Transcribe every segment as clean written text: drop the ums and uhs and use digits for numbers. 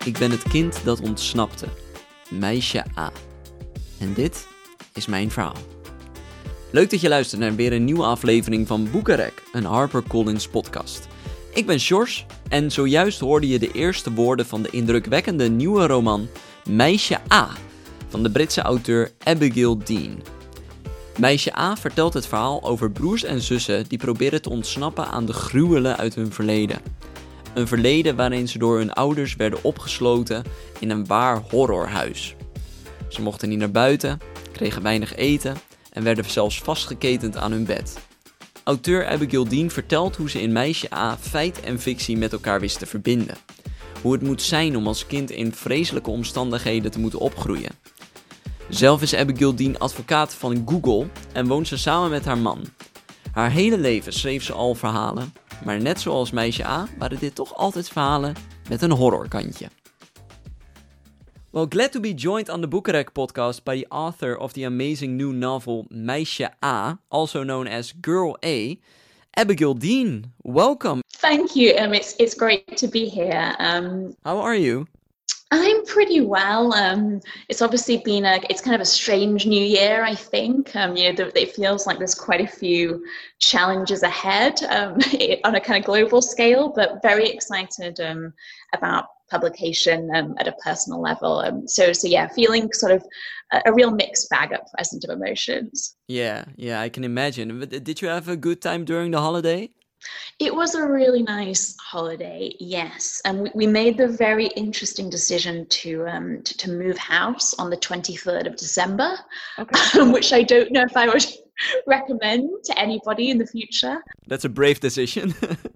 Ik ben het kind dat ontsnapte. Meisje A. En dit is mijn verhaal. Leuk dat je luistert naar weer een nieuwe aflevering van Boekenrek, een HarperCollins podcast. Ik ben Sjors en zojuist hoorde je de eerste woorden van de indrukwekkende nieuwe roman Meisje A van de Britse auteur Abigail Dean. Meisje A vertelt het verhaal over broers en zussen die proberen te ontsnappen aan de gruwelen uit hun verleden. Een verleden waarin ze door hun ouders werden opgesloten in een waar horrorhuis. Ze mochten niet naar buiten, kregen weinig eten en werden zelfs vastgeketend aan hun bed. Auteur Abigail Dean vertelt hoe ze in Meisje A feit en fictie met elkaar wist te verbinden. Hoe het moet zijn om als kind in vreselijke omstandigheden te moeten opgroeien. Zelf is Abigail Dean advocaat van Google en woont ze samen met haar man. Haar hele leven schreef ze al verhalen, maar net zoals Meisje A waren dit toch altijd verhalen met een horrorkantje. Well, glad to be joined on the Boekenrek podcast by the author of the amazing new novel Meisje A, also known as Girl A, Abigail Dean. Welcome. Thank you. It's great to be here. How are you? I'm pretty well. It's obviously been it's kind of a strange new year, I think. It feels like there's quite a few challenges ahead on a kind of global scale, but very excited about publication at a personal level. So yeah, feeling sort of a real mixed bag at present of emotions. Yeah, I can imagine. But did you have a good time during the holiday? It was a really nice holiday, yes. And we made the very interesting decision to move house on the 23rd of December, okay. Which I don't know if I would recommend to anybody in the future. That's a brave decision.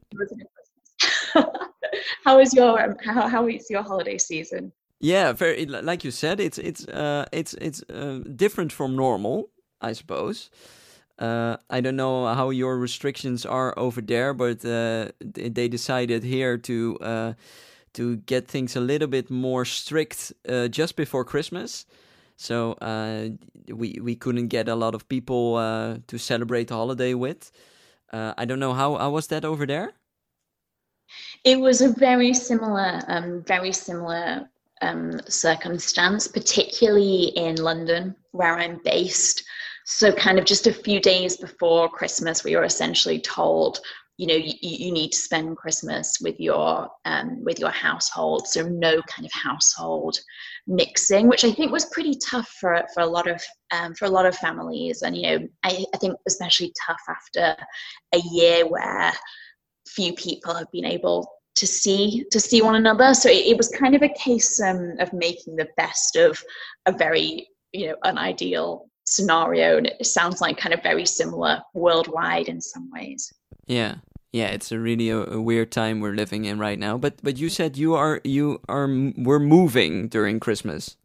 How is your holiday season? Yeah, very. Like you said, it's different from normal, I suppose. I don't know how your restrictions are over there, but they decided here to get things a little bit more strict just before Christmas. So we couldn't get a lot of people to celebrate the holiday with. I don't know how was that over there? It was a very similar circumstance, particularly in London, where I'm based. So kind of just a few days before Christmas, we were essentially told, you need to spend Christmas with your household. So no kind of household mixing, which I think was pretty tough for a lot of families. And, I think especially tough after a year where few people have been able to see one another. So it was kind of a case of making the best of a very, unideal scenario, and it sounds like kind of very similar worldwide in some ways. Yeah, it's a really a weird time we're living in right now. But you said we're moving during Christmas.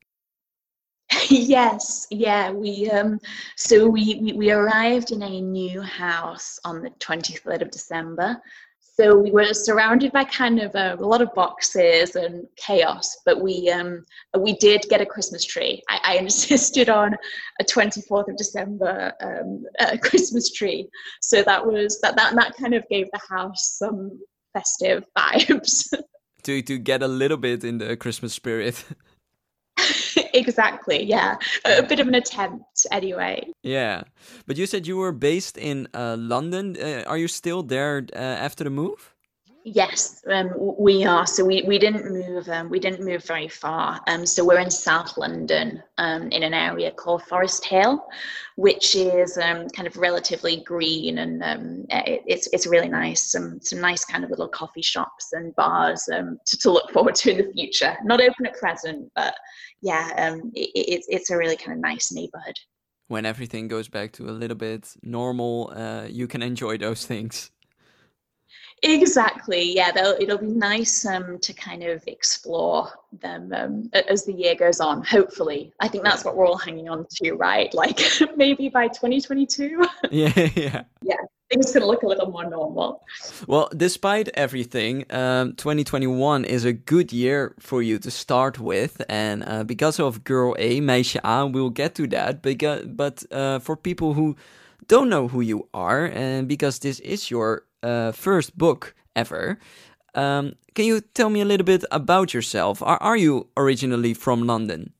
Yes, yeah. We arrived in a new house on the 23rd of December. So we were surrounded by kind of a lot of boxes and chaos, but we did get a Christmas tree. I insisted on a 24th of December Christmas tree, so that kind of gave the house some festive vibes. to get a little bit in the Christmas spirit. Exactly, yeah. A bit of an attempt, anyway. Yeah, but you said you were based in London. Are you still there after the move? Yes, we are. So we didn't move. We didn't move very far. So we're in South London, in an area called Forest Hill, which is kind of relatively green, and it's really nice. Some nice kind of little coffee shops and bars to look forward to in the future. Not open at present, but yeah, it's a really kind of nice neighborhood. When everything goes back to a little bit normal, you can enjoy those things. Exactly, yeah. It'll be nice to kind of explore them as the year goes on. Hopefully, I think that's what we're all hanging on to, right? Like maybe by 2022. Yeah. Yeah, things can look a little more normal. Well, despite everything, 2021 is a good year for you to start with, and because of Girl A, Meisje A, we'll get to that. But for people who don't know who you are, and because this is your first book ever, Can you tell me a little bit about yourself? Are you originally from London?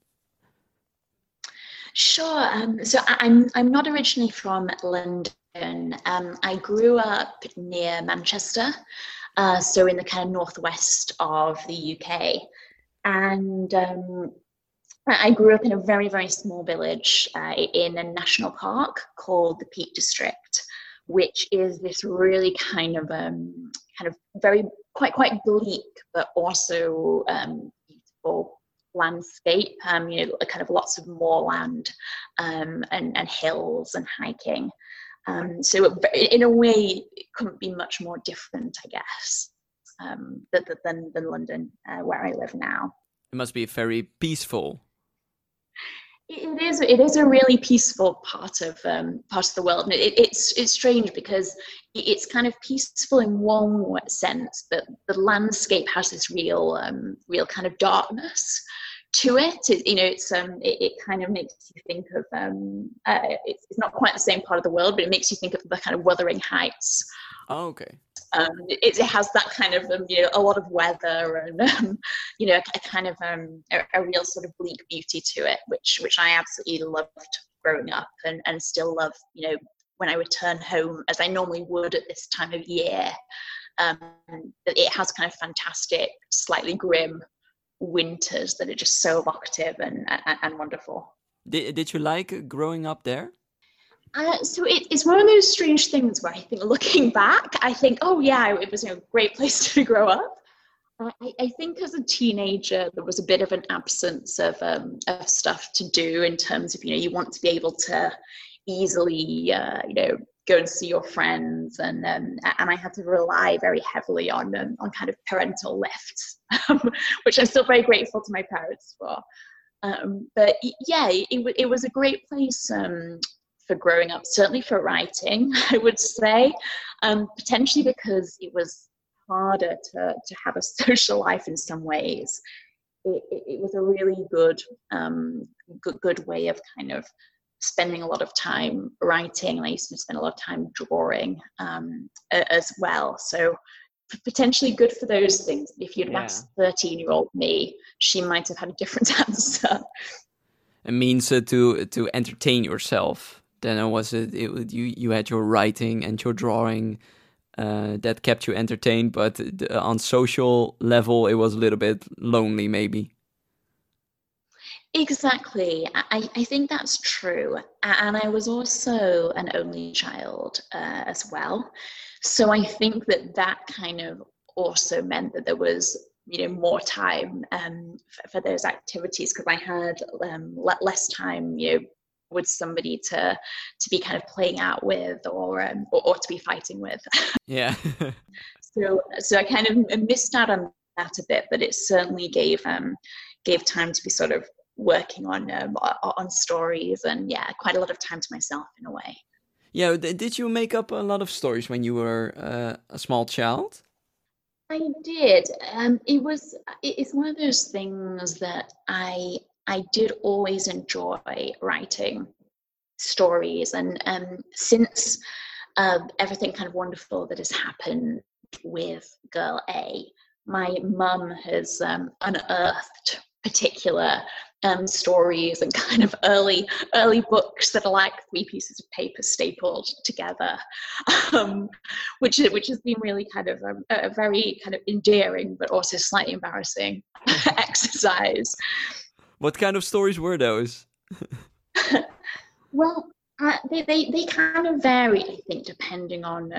Sure. I'm not originally from London. I grew up near Manchester, so in the kind of northwest of the UK, and I grew up in a very, very small village in a national park called the Peak District, which is this really kind of very quite bleak, but also beautiful landscape. Kind of lots of moorland and hills and hiking. So in a way, it couldn't be much more different, I guess, than London, where I live now. It must be very peaceful. It is a really peaceful part of the world, and it's strange because it's kind of peaceful in one sense, but the landscape has this real kind of darkness to it. It kind of makes you think of it's not quite the same part of the world, but it makes you think of the kind of Wuthering Heights. Oh, okay. It has that kind of a lot of weather and a kind of a real sort of bleak beauty to it, which I absolutely loved growing up and still love. When I return home, as I normally would at this time of year, it has kind of fantastic, slightly grim winters that are just so evocative and wonderful. Did you like growing up there? So it's one of those strange things where I think, looking back, I think, oh yeah, it was a great place to grow up. I think as a teenager, there was a bit of an absence of stuff to do in terms of, you want to be able to easily, go and see your friends, and I had to rely very heavily on kind of parental lifts, which I'm still very grateful to my parents for. But yeah, it was a great place for growing up, certainly for writing, I would say, potentially because it was harder to have a social life in some ways. It was a really good way of kind of spending a lot of time writing, and I used to spend a lot of time drawing as well. So potentially good for those things. If you'd asked 13-year-old me, she might have had a different answer. It means to entertain yourself. Then was it you had your writing and your drawing that kept you entertained, but on social level it was a little bit lonely maybe. Exactly. I think that's true. And I was also an only child as well. So I think that kind of also meant that there was more time for those activities, because I had less time with somebody to be kind of playing out with or to be fighting with. Yeah. so I kind of missed out on that a bit, but it certainly gave time to be sort of working on stories, and quite a lot of time to myself in a way. Yeah, did you make up a lot of stories when you were a small child? I did. It's one of those things that I did always enjoy writing stories, and since everything kind of wonderful that has happened with Girl A, my mum has unearthed particular stories and kind of early books that are like 3 pieces of paper stapled together, which has been really kind of a very kind of endearing but also slightly embarrassing exercise. What kind of stories were those? Well, they kind of vary, I think, depending on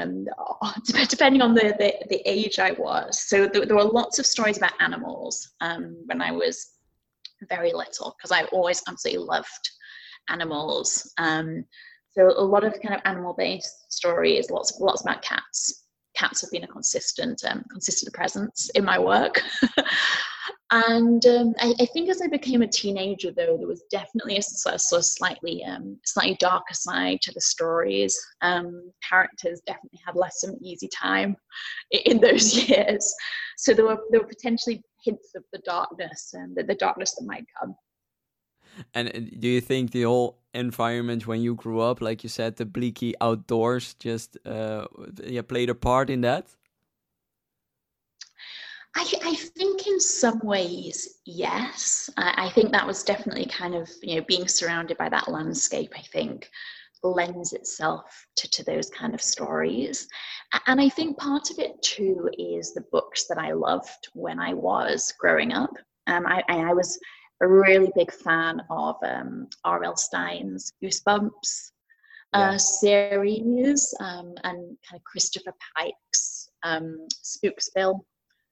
the age I was. So there were lots of stories about animals when I was very little, because I always absolutely loved animals. So a lot of kind of animal-based stories, lots about cats. Cats have been a consistent presence in my work. And I think as I became a teenager, though, there was definitely a sort of slightly darker side to the stories. Characters definitely had less of an easy time in those years. So there were potentially hints of the darkness and the darkness that might come. And do you think the whole environment when you grew up, like you said, the bleaky outdoors, just played a part in that? I think in some ways, yes. I think that was definitely kind of, being surrounded by that landscape, I think lends itself to those kind of stories. And I think part of it too is the books that I loved when I was growing up. I was a really big fan of R.L. Stein's Goosebumps series, and kind of Christopher Pike's Spooksville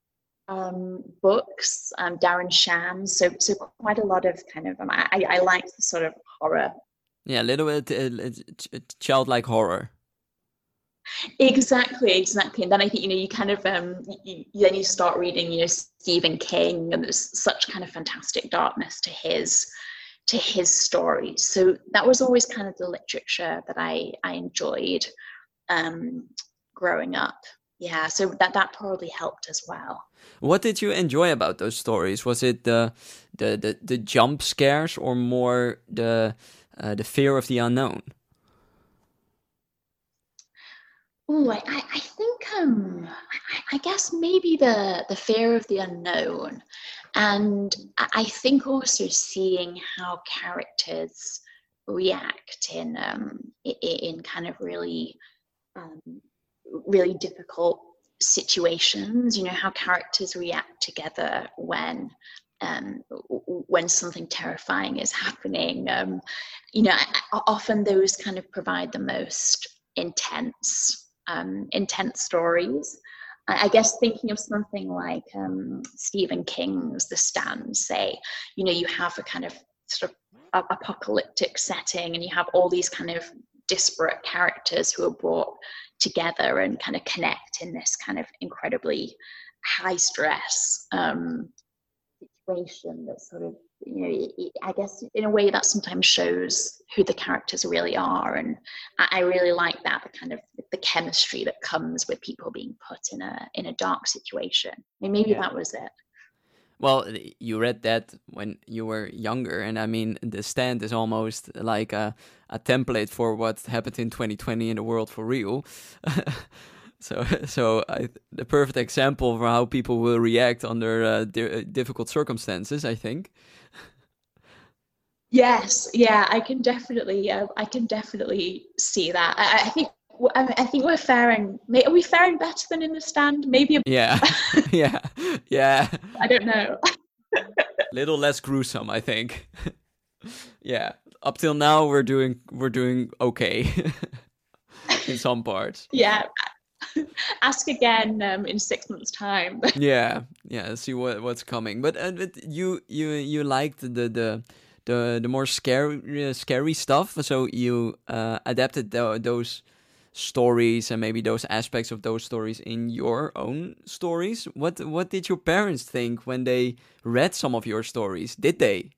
books, Darren Shan. So quite a lot of kind of I like the sort of horror. Yeah, a little bit childlike horror. Exactly. And then I think you kind of then you start reading Stephen King, and there's such kind of fantastic darkness to his stories. So that was always kind of the literature that I enjoyed growing up. Yeah, so that probably helped as well. What did you enjoy about those stories? Was it the jump scares, or more the fear of the unknown? Oh, I think I guess maybe the fear of the unknown, and I think also seeing how characters react in kind of really really difficult situations. How characters react together when something terrifying is happening. Often those kind of provide the most intense stories. I guess thinking of something like Stephen King's The Stand, say, you have a kind of sort of apocalyptic setting, and you have all these kind of disparate characters who are brought together and kind of connect in this kind of incredibly high stress situation that sort of, I guess in a way that sometimes shows who the characters really are. And I really like that, the kind of the chemistry that comes with people being put in a dark situation. I mean, maybe that was it. Well, you read that when you were younger, and I mean, The Stand is almost like a template for what happened in 2020 in the world for real. So the perfect example for how people will react under difficult circumstances, I think. Yes, yeah, I can definitely see that. I think we're faring. Are we faring better than in The Stand? Maybe. Yeah, yeah. I don't know. Little less gruesome, I think. Yeah, up till now we're doing okay in some parts. Yeah, ask again in 6 months' time. Yeah. See what's coming. But you liked the more scary stuff, so you adapted those stories and maybe those aspects of those stories in your own stories. What did your parents think when they read some of your stories? Did they?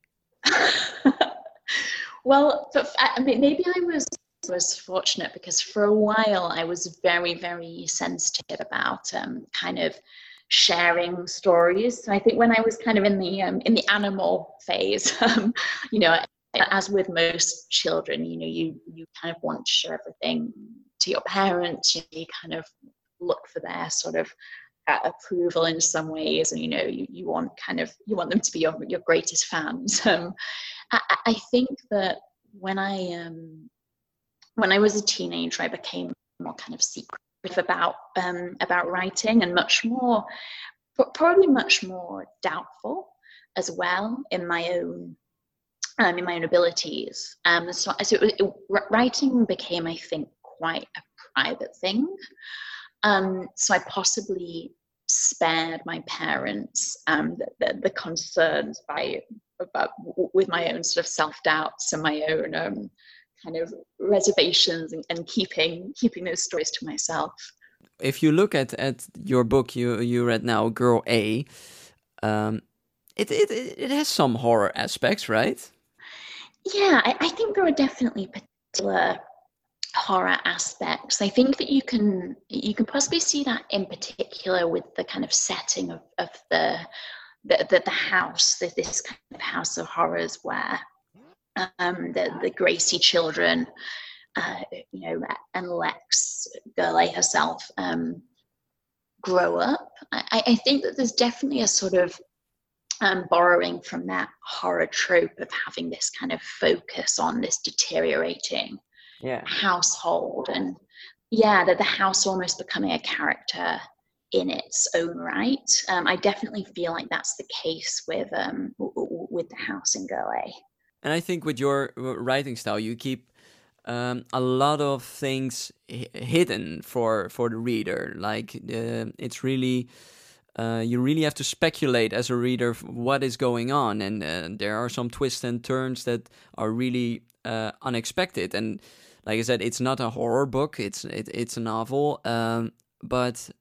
Well, I mean, maybe I was fortunate, because for a while I was very, very sensitive about kind of sharing stories. So I think when I was kind of in the animal phase, as with most children, you kind of want to share everything to your parents. You kind of look for their sort of approval in some ways, and you want them to be your greatest fans. I think that when I was a teenager, I became more kind of secretive about writing, and probably much more doubtful as well in my own abilities. So writing became, I think, quite a private thing. So I possibly spared my parents the concerns with my own sort of self-doubts and my own kind of reservations, and keeping those stories to myself. If you look at your book you read now, Girl A, it has some horror aspects, right? Yeah, I think there are definitely particular horror aspects. I think that you can possibly see that in particular with the kind of setting of the house, this kind of house of horrors where the Gracie children, and Lex, Girl A herself, grow up. I think that there's definitely a sort of borrowing from that horror trope of having this kind of focus on this deteriorating household, and that the house almost becoming a character in its own right. I definitely feel like that's the case with the house in Girl A. And I think with your writing style, you keep a lot of things hidden for the reader. Like it's really you really have to speculate as a reader what is going on, and there are some twists and turns that are really unexpected. And like I said, it's not a horror book; it's a novel, but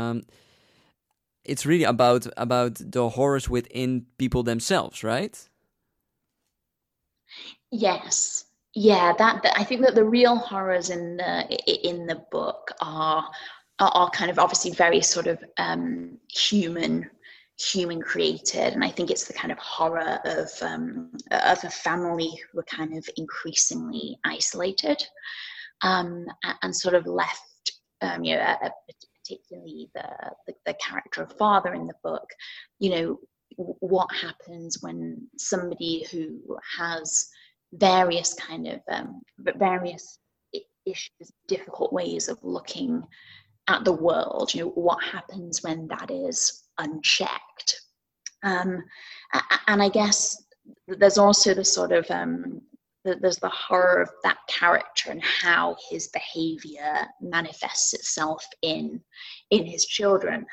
it's really about the horrors within people themselves, right? Yes. Yeah, that I think that the real horrors in the book are kind of obviously very sort of human created, and I think it's the kind of horror of a family who are kind of increasingly isolated, and sort of left, particularly the character of father in the book, what happens when somebody who has various kind of various issues, difficult ways of looking at the world, what happens when that is unchecked. And I guess there's also the sort of there's the horror of that character and how his behavior manifests itself in his children.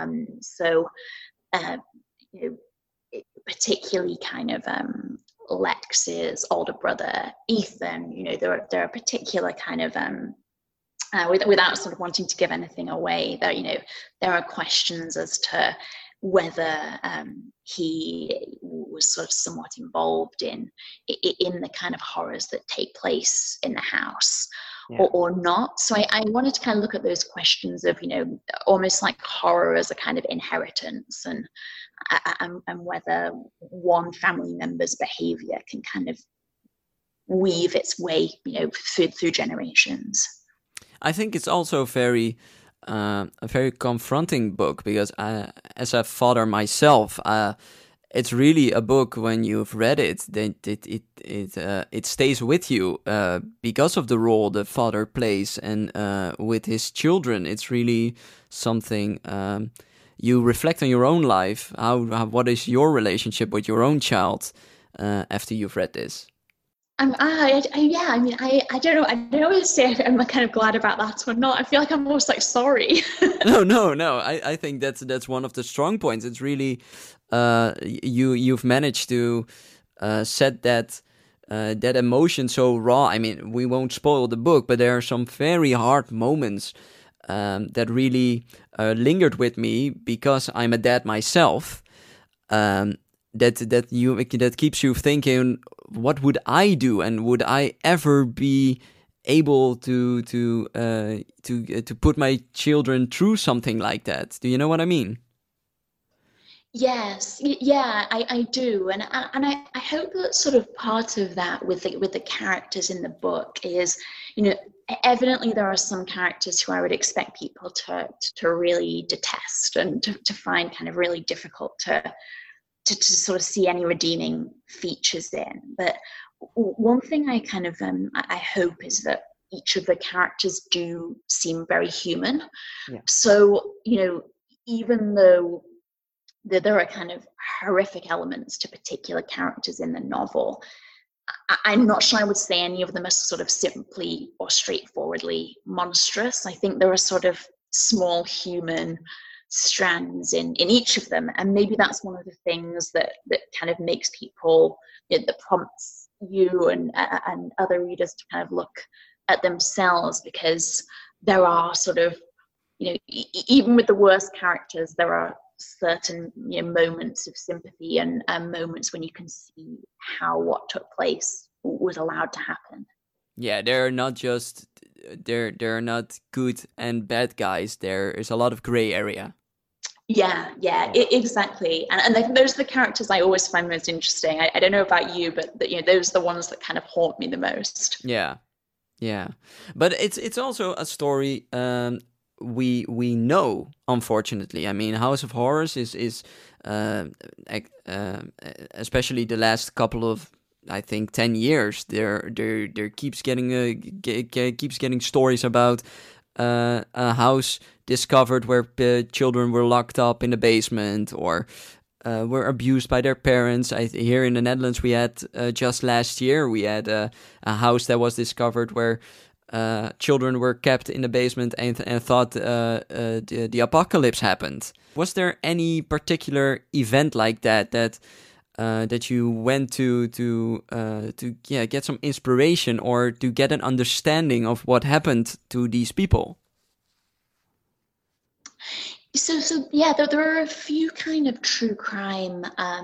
Particularly kind of Lex's older brother Ethan, there are particular kind of without sort of wanting to give anything away, there are questions as to whether he was sort of somewhat involved in the kind of horrors that take place in the house, or not. So I wanted to kind of look at those questions of, almost like horror as a kind of inheritance, and whether one family member's behavior can kind of weave its way, through generations. I think it's also a very confronting book, because as a father myself, it's really a book when you've read it that it stays with you because of the role the father plays, and with his children, it's really something you reflect on your own life. What is your relationship with your own child after you've read this? I don't know. I don't know what to say. I'm kind of glad about that or not. I feel like I'm almost like sorry. No. I think that's one of the strong points. It's really you've managed to set that emotion so raw. I mean, we won't spoil the book, but there are some very hard moments that really lingered with me, because I'm a dad myself. That keeps you thinking, what would I do, and would I ever be able to put my children through something like that? Do you know what I mean? Yes, yeah, I do, and I hope that sort of part of that with the characters in the book is, evidently there are some characters who I would expect people to really detest, and to find kind of really difficult to sort of see any redeeming features in. But one thing I kind of I hope is that each of the characters do seem very human. Yeah. So, even though there are kind of horrific elements to particular characters in the novel, I'm not sure I would say any of them are sort of simply or straightforwardly monstrous. I think there are sort of small human strands in each of them, and maybe that's one of the things that kind of makes people, that prompts you and other readers to kind of look at themselves, because there are sort of, even with the worst characters, there are certain moments of sympathy and moments when you can see how what took place was allowed to happen. Yeah, they're not just they're not good and bad guys. There is a lot of gray area. Yeah, exactly. And those are the characters I always find most interesting. I don't know about you, but those are the ones that kind of haunt me the most. Yeah. But it's also a story we know, unfortunately. I mean, House of Horrors is especially the last couple of, I think, 10 years. There keeps getting keeps getting stories about a house discovered where children were locked up in the basement, or were abused by their parents. Here in the Netherlands, we had just last year we had a house that was discovered where children were kept in the basement and thought the apocalypse happened. Was there any particular event like that you went to get some inspiration or to get an understanding of what happened to these people? So yeah, there are a few kind of true crime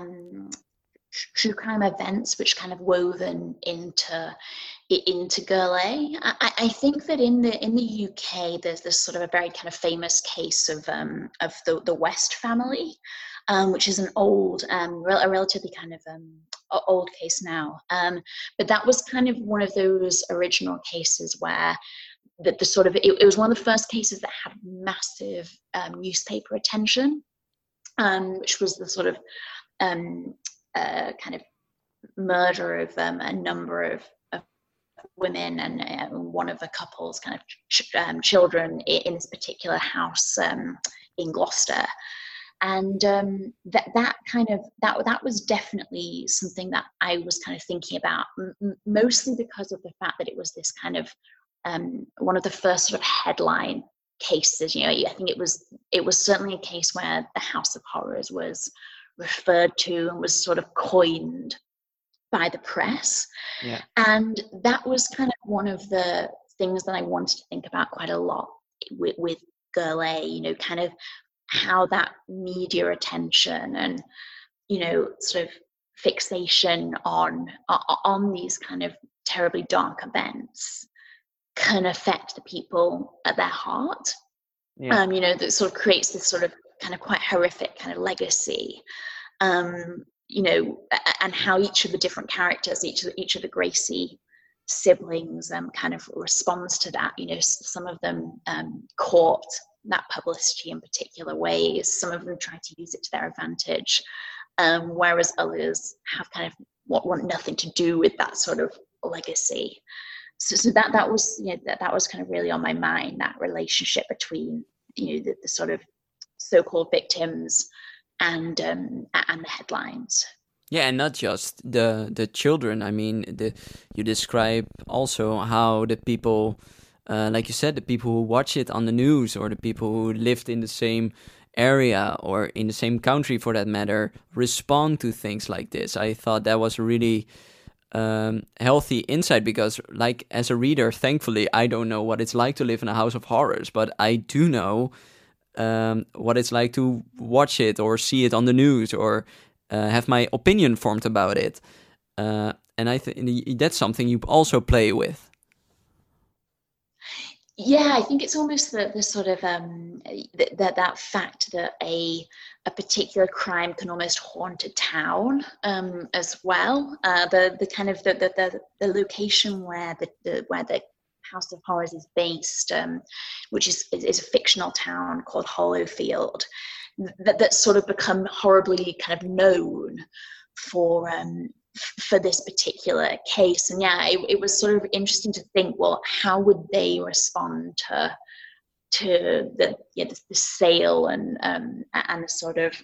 events which kind of woven into Gurley. I think that in the UK there's this sort of a very kind of famous case of the West family, which is an old, a relatively kind of old case now. But that was kind of one of those original cases where the sort of it was one of the first cases that had massive newspaper attention, which was the sort of kind of murder of a number of women and one of the couple's kind of children in this particular house in Gloucester. And that was definitely something that I was kind of thinking about, mostly because of the fact that it was this kind of one of the first sort of headline cases. You know, I think it was certainly a case where the House of Horrors was referred to and was sort of coined by the press. Yeah. And that was kind of one of the things that I wanted to think about quite a lot with Gurley, you know, kind of how that media attention and, you know, sort of fixation on these kind of terribly dark events can affect the people at their heart. Yeah. You know, that sort of creates this sort of kind of quite horrific kind of legacy. You know, and how each of the different characters, each of the Gracie siblings kind of responds to that. You know, some of them court that publicity in particular ways. Some of them try to use it to their advantage, whereas others have kind of want nothing to do with that sort of legacy. So that was, you know, that was kind of really on my mind, that relationship between, you know, the sort of so-called victims and the headlines. Yeah, and not just the children. I mean, you describe also how the people, like you said, the people who watch it on the news, or the people who lived in the same area or in the same country for that matter, respond to things like this. I thought that was really healthy insight, because, like, as a reader, thankfully, I don't know what it's like to live in a House of Horrors, but I do know what it's like to watch it or see it on the news, or have my opinion formed about it. And I think that's something you also play with. Yeah, I think it's almost the sort of that fact that a particular crime can almost haunt a town as well. The kind of the location where the House of Horrors is based, which is a fictional town called Hollowfield, that's sort of become horribly kind of known for this particular case. And yeah, it was sort of interesting to think, well, how would they respond to the sale and the sort of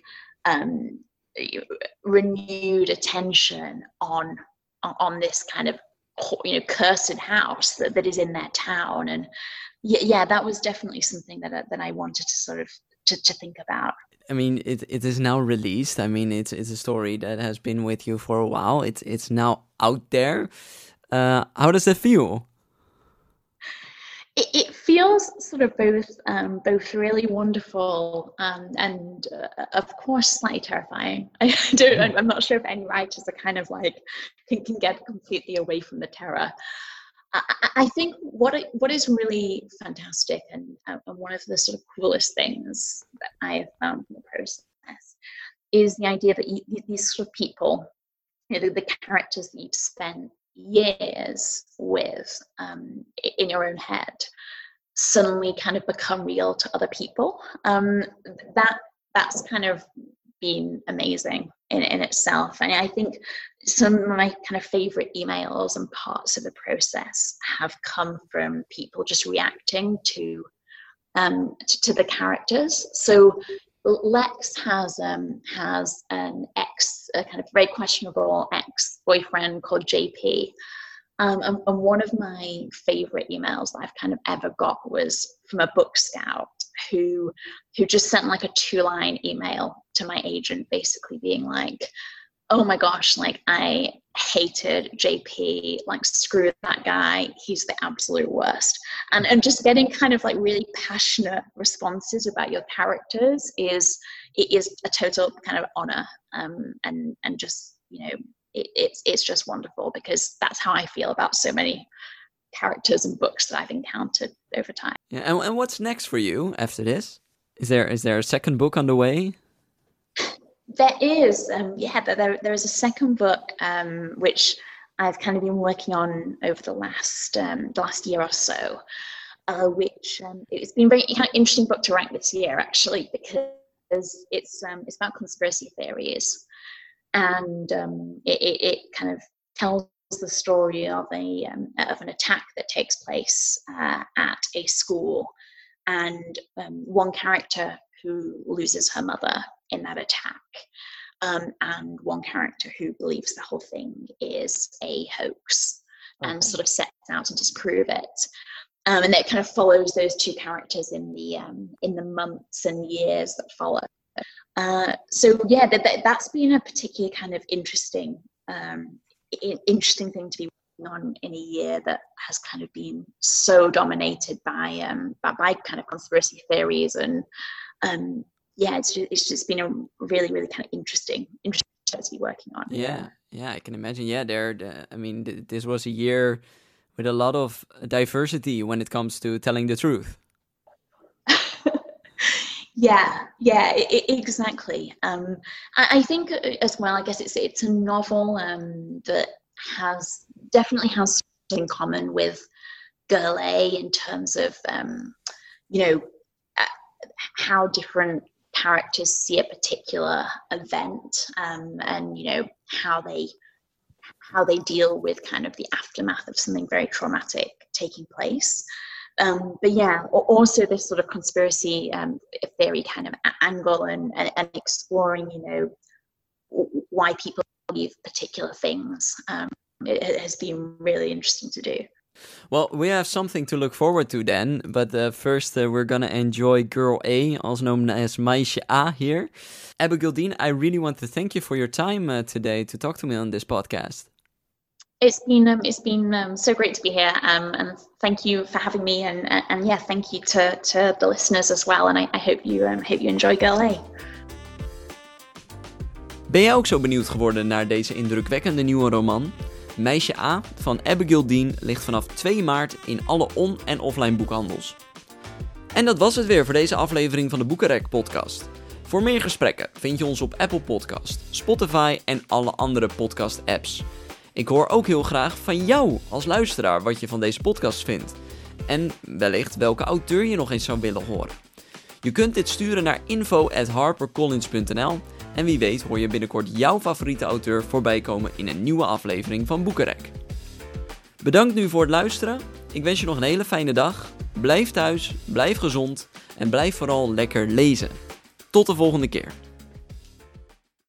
renewed attention on this kind of, you know, cursed house that is in their town. And yeah, that was definitely something that I wanted to sort of to think about. I mean, it is now released. I mean, it's a story that has been with you for a while. It's now out there. How does it feel? It feels sort of both really wonderful and of course slightly terrifying. I'm not sure if any writers are kind of like can get completely away from the terror. I think what is really fantastic and one of the sort of coolest things that I have found in the process is the idea that these sort of people, you know, the characters that you've spent years with in your own head, suddenly kind of become real to other people. That's kind of been amazing in itself. And I think some of my kind of favorite emails and parts of the process have come from people just reacting to the characters. So Lex has an a kind of very questionable ex-boyfriend called JP. And one of my favorite emails that I've kind of ever got was from a book scout who just sent like a 2-line email to my agent, basically being like, oh my gosh, like I hated JP, like screw that guy, he's the absolute worst. And just getting kind of like really passionate responses about your characters is a total kind of honor, and just, you know, it's just wonderful, because that's how I feel about so many characters and books that I've encountered over time. Yeah, and what's next for you after this? Is there a second book on the way? There is, there is a second book, which I've kind of been working on over the last year or so, which it's been a very kind of interesting book to write this year, actually, because it's about conspiracy theories, and it kind of tells the story of an attack that takes place at a school, and one character who loses her mother in that attack, and one character who believes the whole thing is a hoax, and sort of sets out to disprove it. And it kind of follows those two characters in the months and years that follow. So yeah, that's been a particularly kind of interesting thing to be working on in a year that has kind of been so dominated by kind of conspiracy theories, and yeah, it's just been a really, really kind of interesting to be working on. Yeah, I can imagine. Yeah, this was a year with a lot of diversity when it comes to telling the truth. Yeah, exactly. I think as well, I guess it's a novel that definitely has something in common with Girl A in terms of you know, how different characters see a particular event, and you know, how they deal with kind of the aftermath of something very traumatic taking place. But yeah, also this sort of conspiracy theory kind of angle, and exploring, you know, why people believe particular things. It has been really interesting to do. Well, we have something to look forward to then, but first we're gonna enjoy Girl A, also known as Meisje A here. Abigail Dean, I really want to thank you for your time today to talk to me on this podcast. It's been so great to be here, and thank you for having me, and yeah, thank you to the listeners as well, and I hope you enjoy Girl A. Ben jij ook zo benieuwd geworden naar deze indrukwekkende nieuwe roman? Meisje A van Abigail Dean ligt vanaf 2 maart in alle on- en offline boekhandels. En dat was het weer voor deze aflevering van de Boekenrek podcast. Voor meer gesprekken vind je ons op Apple Podcast, Spotify en alle andere podcast apps. Ik hoor ook heel graag van jou als luisteraar wat je van deze podcast vindt. En wellicht welke auteur je nog eens zou willen horen. Je kunt dit sturen naar info@harpercollins.nl en wie weet hoor je binnenkort jouw favoriete auteur voorbij komen in een nieuwe aflevering van Boekenrek. Bedankt nu voor het luisteren. Ik wens je nog een hele fijne dag. Blijf thuis, blijf gezond en blijf vooral lekker lezen. Tot de volgende keer.